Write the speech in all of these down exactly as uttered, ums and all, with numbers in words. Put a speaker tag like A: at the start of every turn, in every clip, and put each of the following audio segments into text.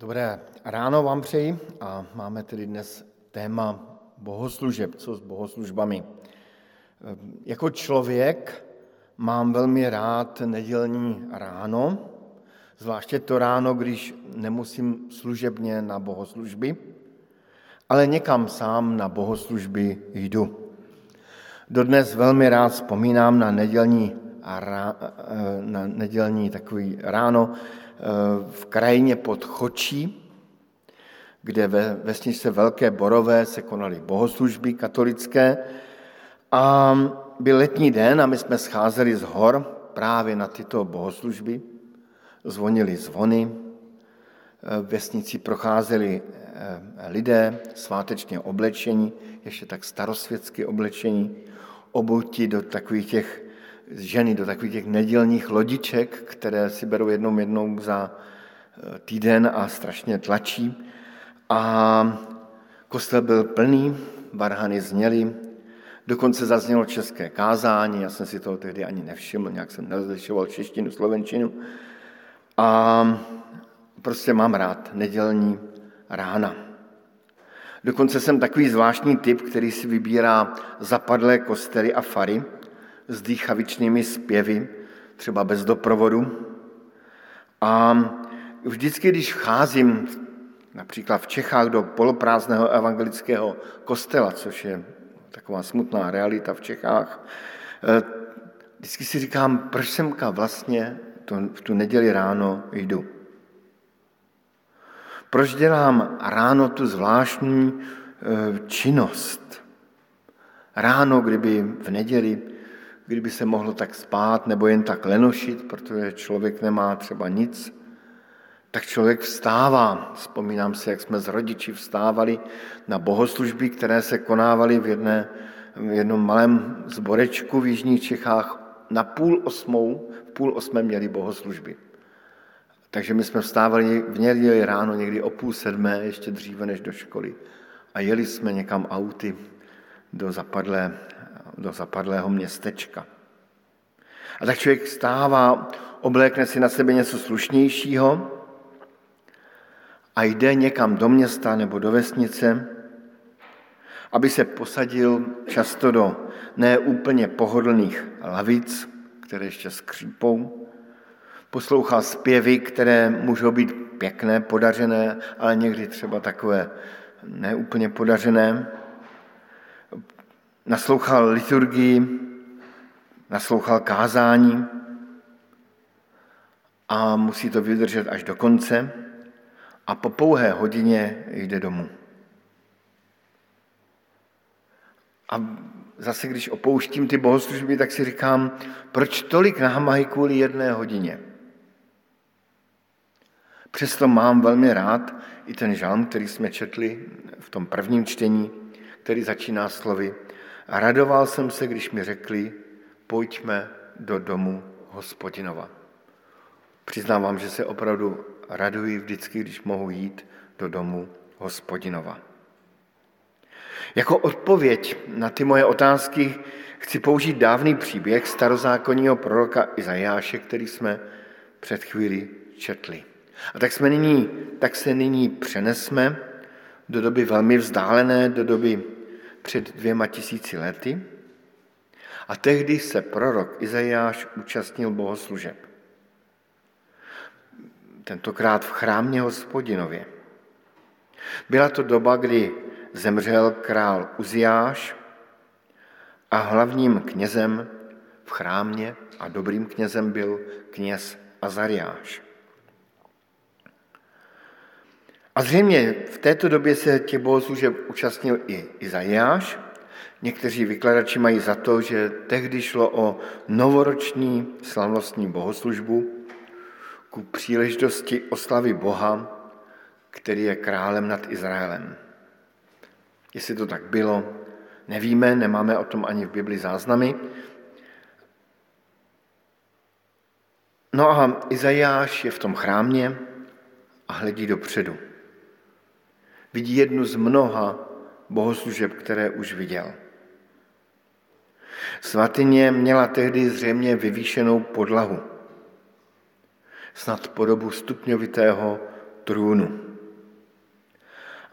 A: Dobré ráno vám přeji a máme tedy dnes téma bohoslužeb, co s bohoslužbami. Jako člověk mám velmi rád nedělní ráno, zvláště to ráno, když nemusím služebně na bohoslužby, ale někam sám na bohoslužby jdu. Dodnes velmi rád vzpomínám na nedělní, na nedělní takový ráno v krajině pod Chočí, kde ve vesničce Velké Borové se konaly bohoslužby katolické a byl letní den a my jsme scházeli z hor právě na tyto bohoslužby. Zvonily zvony, v vesnici procházeli lidé svátečně oblečení, ještě tak starosvětsky oblečení, obuti do takových těch ženy, do takových těch nedělních lodiček, které si berou jednou jednou za týden a strašně tlačí. A kostel byl plný, varhany zněly, dokonce zaznělo české kázání, já jsem si toho tehdy ani nevšiml, nějak jsem nerozlišoval češtinu, slovenčinu. A prostě mám rád nedělní rána. Dokonce jsem takový zvláštní typ, který si vybírá zapadlé kostely a fary s dýchavičnými zpěvy, třeba bez doprovodu. A vždycky, když vcházím například v Čechách do poloprázdného evangelického kostela, což je taková smutná realita v Čechách, vždycky si říkám, proč semka vlastně to, v tu neděli ráno jdu. Proč dělám ráno tu zvláštní činnost? Ráno, kdyby v neděli, kdyby se mohlo tak spát nebo jen tak lenošit, protože člověk nemá třeba nic, tak člověk vstává. Vzpomínám si, jak jsme s rodiči vstávali na bohoslužby, které se konávaly v, jedné, v jednom malém zborečku v jižních Čechách. Na půl osmou, v půl osmé měli bohoslužby. Takže my jsme vstávali v neděli ráno někdy o půl sedmé, ještě dříve než do školy. A jeli jsme někam auty do, zapadlé, do zapadlého městečka. A tak člověk vstává, oblékne si na sebe něco slušnějšího a jde někam do města nebo do vesnice, aby se posadil často do neúplně pohodlných lavic, které ještě skřípou, poslouchal zpěvy, které můžou být pěkné, podařené, ale někdy třeba takové neúplně podařené. Naslouchal liturgii, naslouchal kázání a musí to vydržet až do konce a po pouhé hodině jde domů. A zase, když opouštím ty bohoslužby, tak si říkám, proč tolik námahy kvůli jedné hodině? Přesto mám velmi rád i ten žalm, který jsme četli v tom prvním čtení, který začíná slovy. A radoval jsem se, když mi řekli, pojďme do domu Hospodinova. Přiznávám, že se opravdu raduji vždycky, když mohu jít do domu Hospodinova. Jako odpověď na ty moje otázky chci použít dávný příběh starozákonního proroka Izajáše, který jsme před chvílí četli. A tak, jsme nyní, tak se nyní přenesme do doby velmi vzdálené, do doby před dvěma tisíci lety. A tehdy se prorok Izajáš účastnil bohoslužeb. Tentokrát v chrámě Hospodinově. Byla to doba, kdy zemřel král Uziáš a hlavním knězem v chrámě a dobrým knězem byl kněz Azariáš. A zřejmě v této době se těch bohoslužeb účastnil i Izajáš. Někteří vykladači mají za to, že tehdy šlo o novoroční slavnostní bohoslužbu ku příležitosti oslavy Boha, který je králem nad Izraelem. Jestli to tak bylo, nevíme, nemáme o tom ani v Bibli záznamy. No a Izajáš je v tom chrámě a hledí dopředu. Vidí jednu z mnoha bohoslužeb, které už viděl. Svatyně měla tehdy zřejmě vyvýšenou podlahu, snad podobu stupňovitého trůnu.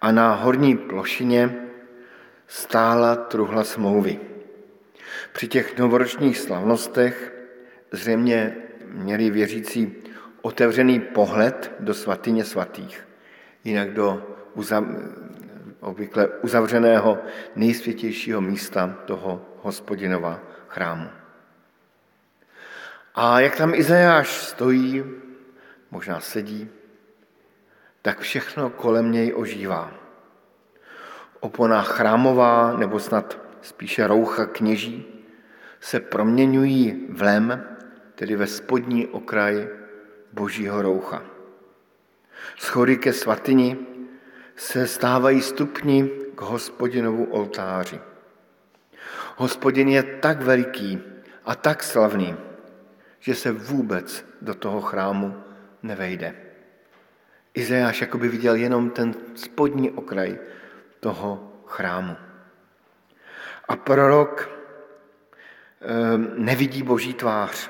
A: a na horní plošině stála truhla smlouvy. Při těch novoročních slavnostech zřejmě měli věřící otevřený pohled do svatyně svatých, jinak do uzav, obvykle uzavřeného nejsvětějšího místa toho Hospodinova chrámu. A jak tam Izajáš stojí, možná sedí, tak všechno kolem něj ožívá. Opona chrámová, nebo snad spíše roucha kněží, se proměňují v lem, tedy ve spodní okraj božího roucha. Schody ke svatyni se stávají stupni k Hospodinovu oltáři. Hospodin je tak veliký a tak slavný, že se vůbec do toho chrámu nevejde. Izajáš jakoby viděl jenom ten spodní okraj toho chrámu. A prorok nevidí boží tvář.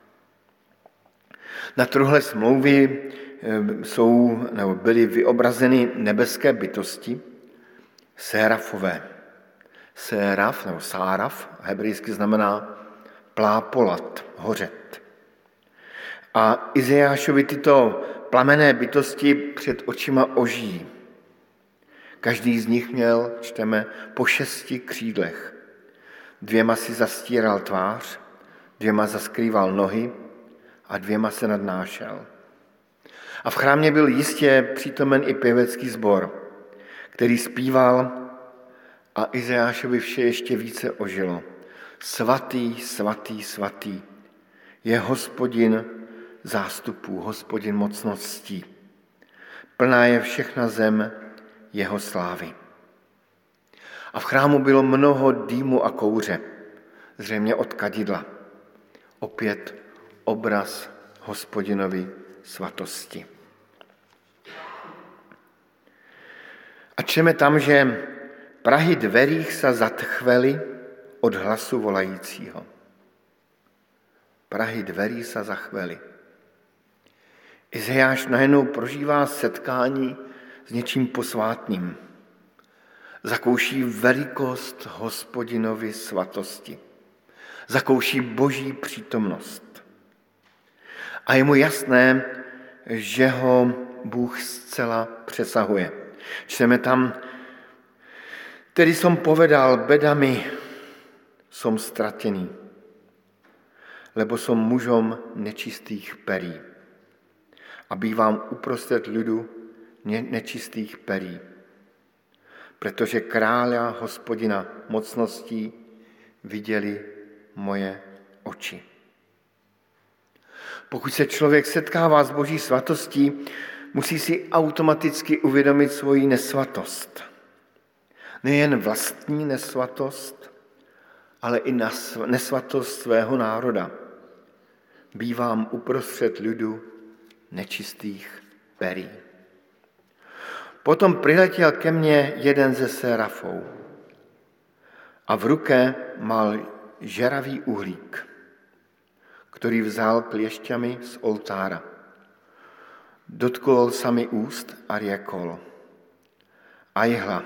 A: Na truhle smlouvy jsou, nebo byly vyobrazeny nebeské bytosti, sérafové. Séraf, nebo sáraf, hebrejsky znamená plápolat, hořet. A Izajášovi tyto plamenné bytosti před očima ožijí. Každý z nich měl, čteme, po šesti křídlech. Dvěma si zastíral tvář, dvěma zaskrýval nohy a dvěma se nadnášel. A v chrámě byl jistě přítomen i pěvecký sbor, který zpíval a Izajášovi vše ještě více ožilo. Svatý, svatý, svatý je Hospodin zástupů, Hospodin mocností. Plná je všechna zem jeho slávy. A v chrámu bylo mnoho dýmu a kouře, zřejmě od kadidla. Opět obraz Hospodinovy svatosti. A čteme tam, že prahy dverích se zatchvely od hlasu volajícího. Prahy dverí se zachvely. Izajáš najednou prožívá setkání s něčím posvátným. Zakouší velikost Hospodinovy svatosti. Zakouší boží přítomnost. A je mu jasné, že ho Bůh zcela přesahuje. Čteme tam, tedy som povedal, bedami som stratený, lebo som mužom nečistých perí a bývám uprostřed ľudu nečistých perí, protože kráľa Hospodina mocností viděli moje oči. Pokud se člověk setkává s boží svatostí, musí si automaticky uvědomit svoji nesvatost. Nejen vlastní nesvatost, ale i nesvatost svého národa. Bývám uprostřed ľudu nečistých perí. Potom přiletěl ke mně jeden ze sérafů a v ruce mal žeravý uhlík, který vzal kliešťami z oltára. Dotkol sa mi úst a riekol: Ajhla,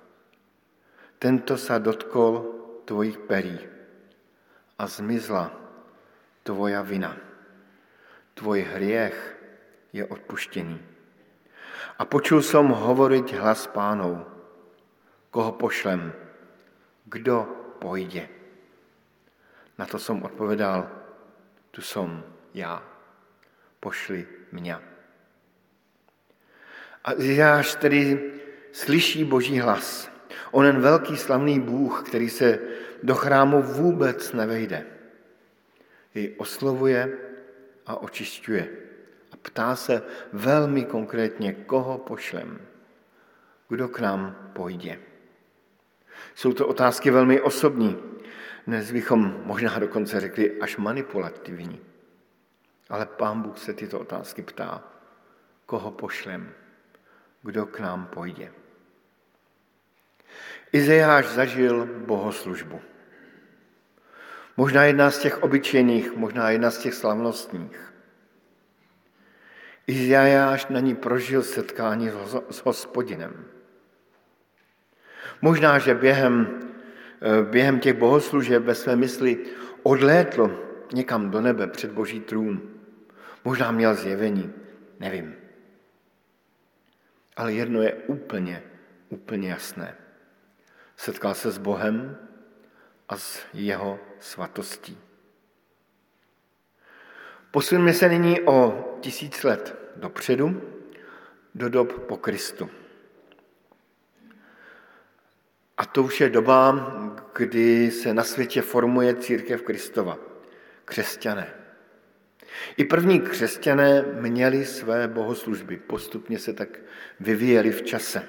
A: tento sa dotkol tvojich perí a zmizla tvoja vina. Tvoj hriech je odpuštěný. A počul som hovoriť hlas Pánov: Koho pošlem? Kdo pojde? Na to som odpovedal: Tu som já. Pošli mňa. A Izajáš tedy slyší boží hlas. Onen velký slavný Bůh, který se do chrámu vůbec nevejde, jej oslovuje a očišťuje. A ptá se velmi konkrétně, koho pošlem, kdo k nám pojde. Jsou to otázky velmi osobní, dnes bychom možná dokonce řekli až manipulativní. Ale Pán Bůh se tyto otázky ptá, koho pošlem, kdo k nám pojde. Izajáš zažil bohoslužbu. Možná jedna z těch obyčejných, možná jedna z těch slavnostních. Izajáš na ní prožil setkání s Hospodinem. Možná, že během, během těch bohoslužeb ve své mysli odlétl někam do nebe před Boží trůn. Možná měl zjevení, nevím. Ale jedno je úplně, úplně jasné. Setkal se s Bohem a s jeho svatostí. Posuneme se nyní o tisíc let dopředu, do dob po Kristu. A to už je doba, kdy se na světě formuje církev Kristova, křesťané. I první křesťané měli své bohoslužby, postupně se tak vyvíjeli v čase.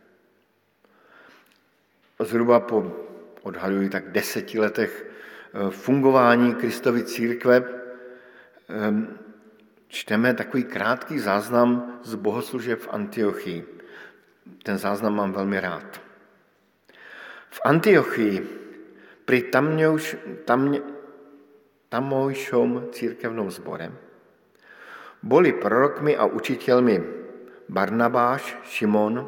A: Zhruba po, odhaduji tak deseti letech fungování Kristovy církve čteme takový krátký záznam z bohoslužeb v Antiochii. Ten záznam mám velmi rád. V Antiochii pri tamňouš, tam, tamojšom církevnom zbore boli prorokmi a učiteľmi Barnabáš, Šimon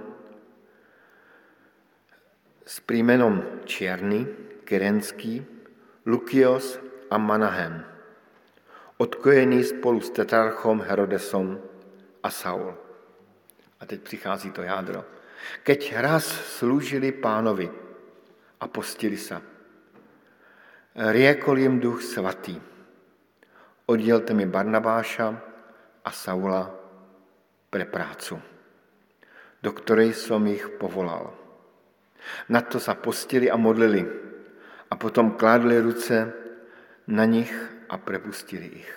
A: s prímenom Čierny, Kyrenský, Lukios a Manahem, odkojený spolu s tetrarchom Herodesom a Saul. A teď přichází to jádro. Keď raz slúžili Pánovi a postili sa, riekol im Duch Svatý: Oddielte mi Barnabáša a Saula pre prácu, do ktorej som ich povolal. Na to sa postili a modlili a potom kládli ruce na nich a prepustili ich.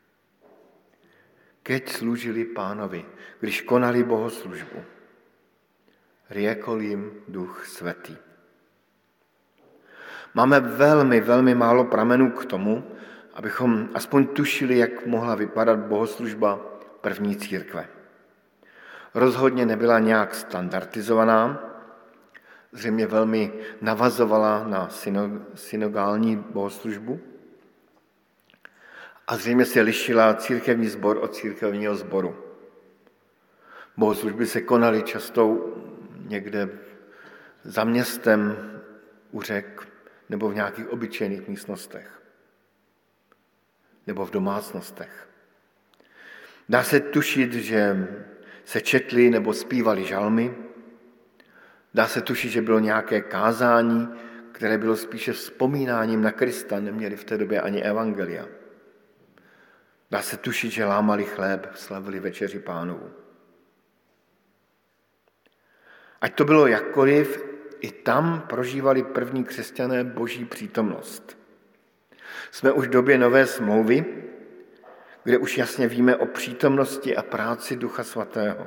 A: Keď slúžili Pánovi, když konali bohoslužbu, riekol im Duch Svätý. Máme velmi, velmi málo pramenů k tomu, abychom aspoň tušili, jak mohla vypadat bohoslužba první církve. Rozhodně nebyla nějak standardizovaná, zřejmě velmi navazovala na synagogální bohoslužbu a zřejmě se lišila církevní sbor od církevního sboru. Bohoslužby se konaly často někde za městem u řek nebo v nějakých obyčejných místnostech nebo v domácnostech. Dá se tušit, že se četly nebo zpívali žalmy. Dá se tušit, že bylo nějaké kázání, které bylo spíše vzpomínáním na Krista, neměli v té době ani evangelia. Dá se tušit, že lámali chléb, slavili večeři Pánovu. Ať to bylo jakkoliv, i tam prožívali první křesťané Boží přítomnost. Jsme už v době Nové smlouvy, kde už jasně víme o přítomnosti a práci Ducha Svatého.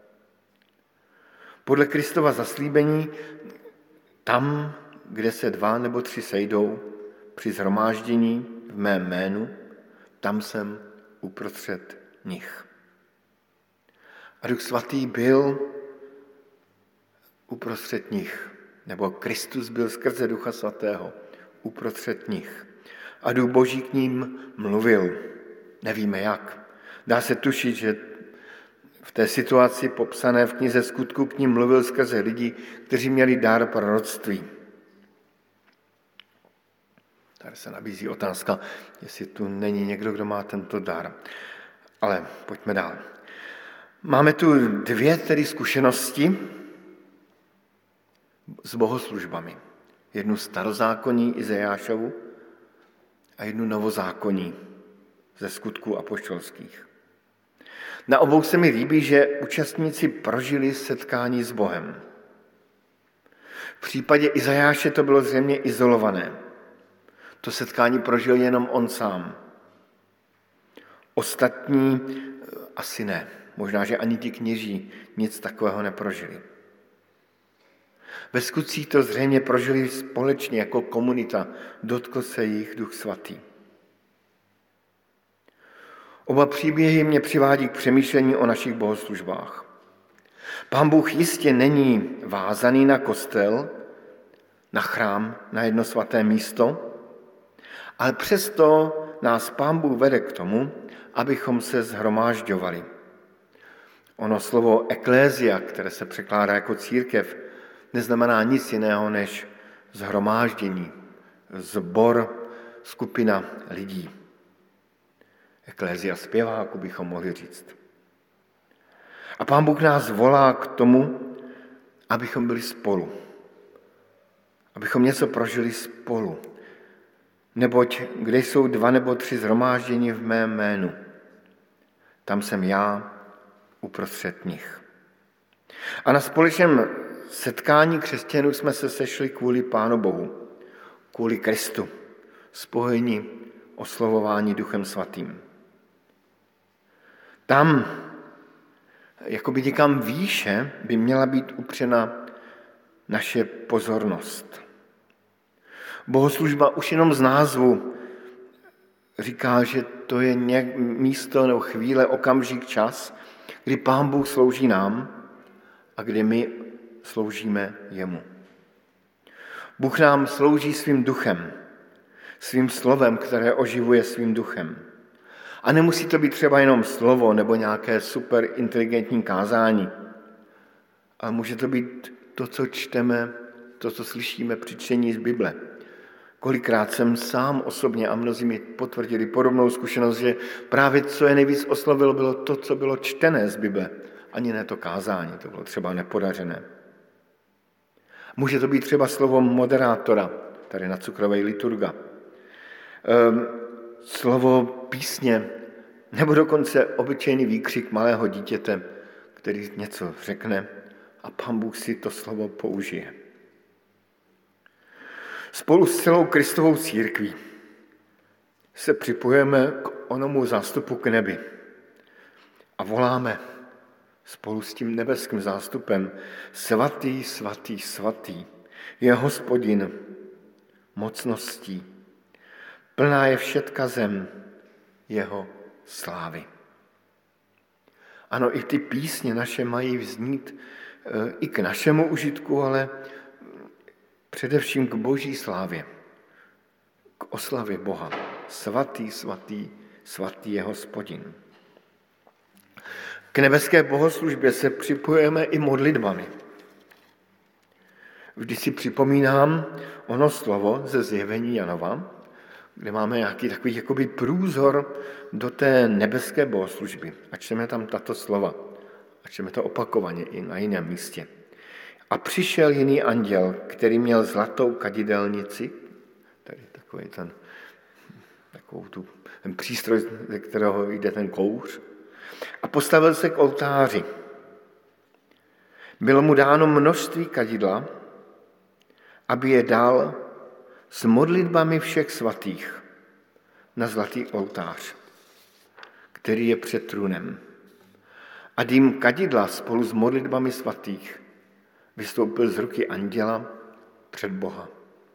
A: Podle Kristova zaslíbení, tam, kde se dva nebo tři sejdou při shromáždění v mém jménu, tam jsem uprostřed nich. A Duch Svatý byl uprostřed nich, nebo Kristus byl skrze Ducha Svatého uprostřed nich. A Duch Boží k ním mluvil. Nevíme jak. Dá se tušit, že v té situaci popsané v knize Skutku k ním mluvil skrze lidi, kteří měli dar proroctví. Tady se nabízí otázka, jestli tu není někdo, kdo má tento dar. Ale pojďme dál. Máme tu dvě tedy zkušenosti s bohoslužbami. Jednu starozákonní Izajášovu a jednu novozákonní ze Skutků apoštolských. Na obou se mi líbí, že účastníci prožili setkání s Bohem. V případě Izajáše to bylo zřejmě izolované. To setkání prožil jenom on sám. Ostatní asi ne. Možná, že ani ti kněží nic takového neprožili. Ve Skutcích to zřejmě prožili společně jako komunita. Dotkl se jich Duch Svatý. Oba příběhy mě přivádí k přemýšlení o našich bohoslužbách. Pán Bůh jistě není vázaný na kostel, na chrám, na jedno svaté místo, ale přesto nás Pán Bůh vede k tomu, abychom se shromážďovali. Ono slovo eklézia, které se překládá jako církev, neznamená nic jiného než shromáždění, sbor, skupina lidí. Eklézia zpěváků bychom mohli říct. A Pán Bůh nás volá k tomu, abychom byli spolu. Abychom něco prožili spolu. Neboť kde jsou dva nebo tři shromáždění v mém jménu, tam jsem já uprostřed nich. A na společném setkání křesťanů jsme se sešli kvůli Pánu Bohu, kvůli Kristu, spojení, oslovování Duchem Svatým. Tam, jakoby někam výše, by měla být upřena naše pozornost. Bohoslužba už jenom z názvu říká, že to je místo nebo chvíle, okamžik, čas, kdy Pán Bůh slouží nám a kdy my sloužíme jemu. Bůh nám slouží svým duchem, svým slovem, které oživuje svým duchem. A nemusí to být třeba jenom slovo nebo nějaké super inteligentní kázání, ale může to být to, co čteme, to, co slyšíme při čtení z Bible. Kolikrát jsem sám osobně a mnozí mi potvrdili podobnou zkušenost, že právě co je nejvíc oslovilo, bylo to, co bylo čtené z Bible. Ani ne to kázání, to bylo třeba nepodařené. Může to být třeba slovo moderátora, tady na Cukrové liturga. Ehm, slovo písně, nebo dokonce obyčejný výkřik malého dítěte, který něco řekne a Pán Bůh si to slovo použije. Spolu s celou Kristovou církví se připojeme k onomu zástupu k nebi a voláme spolu s tím nebeským zástupem svatý, svatý, svatý je Hospodin mocností. Plná je všetka zem jeho slávy. Ano, i ty písně naše mají vznít i k našemu užitku, ale především k Boží slávě, k oslavě Boha. Svatý, svatý, svatý je Hospodin. K nebeské bohoslužbě se připojujeme i modlitbami. Vždy si připomínám ono slovo ze Zjevení Janova, kde máme nějaký takový jakoby průzor do té nebeské bohoslužby. A čteme tam tato slova. A čteme to opakovaně i na jiném místě. A přišel jiný anděl, který měl zlatou kadidelnici, tady takový ten, takovou tu, ten přístroj, ze kterého jde ten kouř, a postavil se k oltáři. Bylo mu dáno množství kadidla, aby je dal s modlitbami všech svatých na zlatý oltář, který je před trůnem. A dým kadidla spolu s modlitbami svatých vystoupil z ruky anděla před Boha.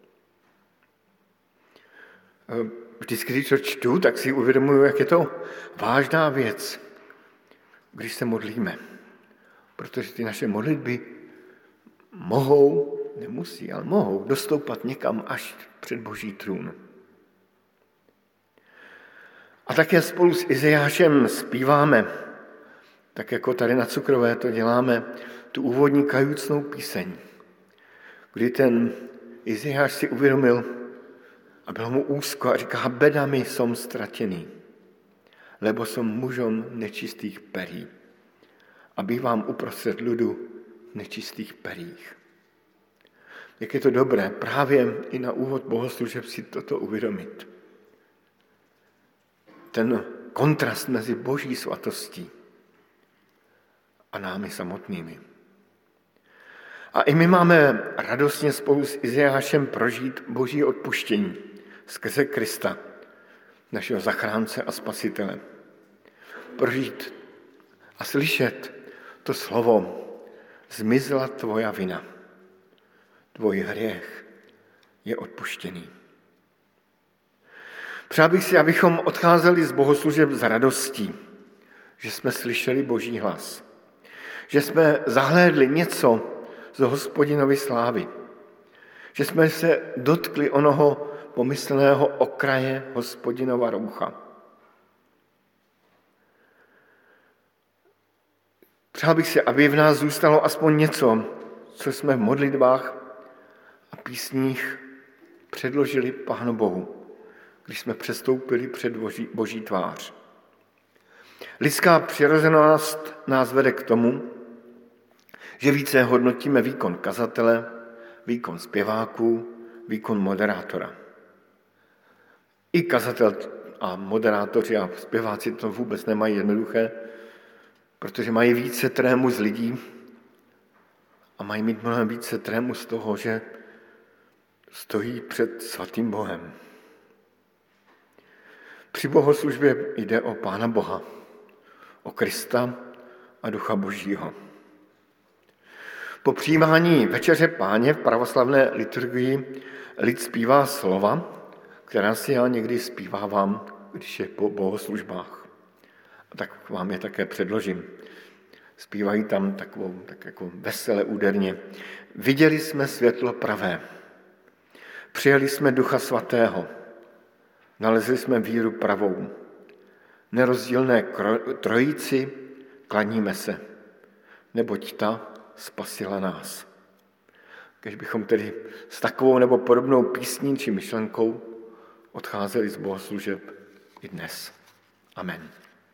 A: Vždycky, když to čtu, tak si uvědomuji, jak je to vážná věc, když se modlíme. Protože ty naše modlitby mohou, nemusí, ale mohou dostoupat někam až před Boží trůn. A také spolu s Izajášem zpíváme, tak jako tady na Cukrové to děláme, tu úvodní kajucnou píseň, kdy ten Izajáš si uvědomil a bylo mu úzko a říká, bedami som stratený, lebo som mužom nečistých perí a bývám uprostřed ľudu nečistých perích. Jak je to dobré právě i na úvod bohoslužeb si toto uvědomit. Ten kontrast mezi Boží svatostí a námi samotnými. A i my máme radostně spolu s Izajášem prožít Boží odpuštění skrze Krista, našeho zachránce a spasitele. Prožít a slyšet to slovo, zmizela tvoja vina, tvoj hriech je odpuštěný. Přál bych si, abychom odcházeli z bohoslužeb s radostí, že jsme slyšeli Boží hlas, že jsme zahlédli něco z Hospodinovy slávy, že jsme se dotkli onoho pomyslného okraje Hospodinova roucha. Přál bych si, aby v nás zůstalo aspoň něco, co jsme v modlitbách a písních předložili Pánu Bohu, když jsme přestoupili před boží, boží tvář. Lidská přirozenost nás vede k tomu, že více hodnotíme výkon kazatele, výkon zpěváků, výkon moderátora. I kazatel a moderátoři a zpěváci to vůbec nemají jednoduché, protože mají více trému z lidí a mají mít mnohem více trému z toho, že stojí před svatým Bohem. Při bohoslužbě jde o Pána Boha, o Krista a Ducha Božího. Po přijímání večeře Páně v pravoslavné liturgii lid zpívá slova, která si já někdy zpívávám, když je po bohoslužbách. A tak vám je také předložím. Zpívají tam takovou, tak jako vesele úderně. Viděli jsme světlo pravé, přijali jsme Ducha Svatého, nalezli jsme víru pravou, nerozdílné trojici klaníme se, neboť ta spasila nás. Když bychom tedy s takovou nebo podobnou písní či myšlenkou odcházeli z bohoslužeb i dnes. Amen.